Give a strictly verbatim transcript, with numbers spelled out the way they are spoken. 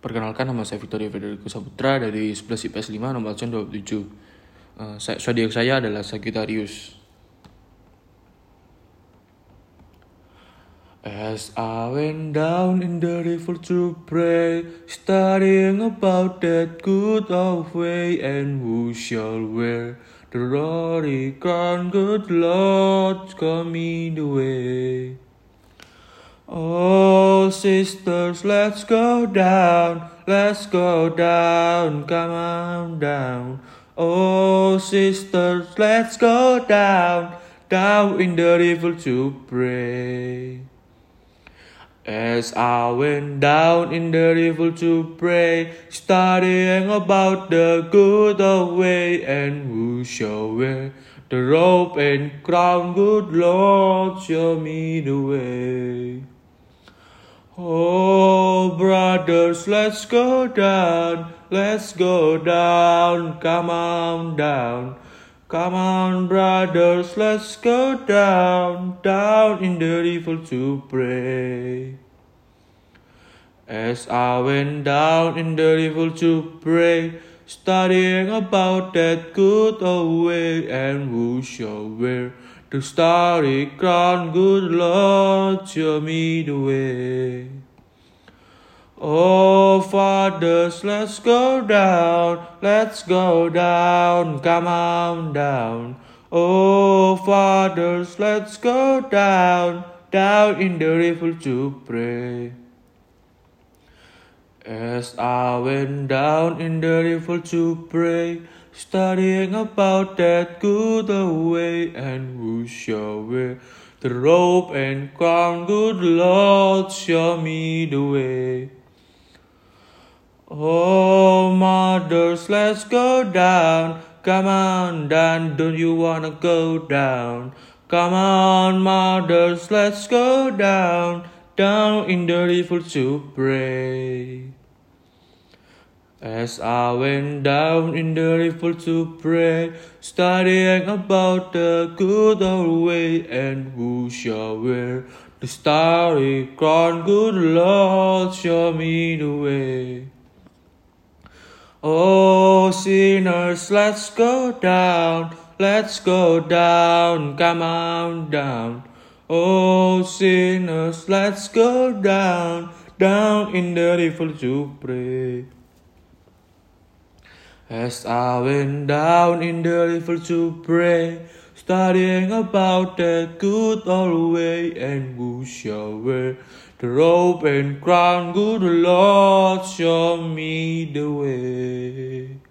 Perkenalkan, nama saya Victoria Federico Saputra dari sebelas I P S lima nomor absen dua puluh tujuh. Uh, saya, zodiak saya adalah Sagittarius. As I went down in the river to pray, studying about that good old way, and who shall wear the glory crown, good Lord, come me the way. Oh sisters, let's go down, let's go down, come on down. Oh sisters, let's go down, down in the river to pray. As I went down in the river to pray, studying about the good old way, and who shall wear the robe and crown, good Lord, show me the way. Oh brothers, let's go down, let's go down, come on down. Come on brothers, let's go down, down in the river to pray. As I went down in the river to pray, studying about that good old way, and who shall wear the starry crown, good Lord, show me the way. Oh fathers, let's go down, let's go down, come on down. Oh fathers, let's go down, down in the river to pray. As I went down in the river to pray, studying about that good old way, and who shall wear the robe and crown, good Lord, show me the way. Oh mothers, let's go down, come on down, don't you wanna go down? Come on mothers, let's go down, down in the river to pray. As I went down in the river to pray, studying about the good old way, and who shall wear the starry crown, good Lord, show me the way. Oh sinners, let's go down, let's go down, come on down. Oh sinners, let's go down, down in the river to pray. As I went down in the river to pray, studying about that good old way, and who shall wear the robe and crown, good Lord, show me the way.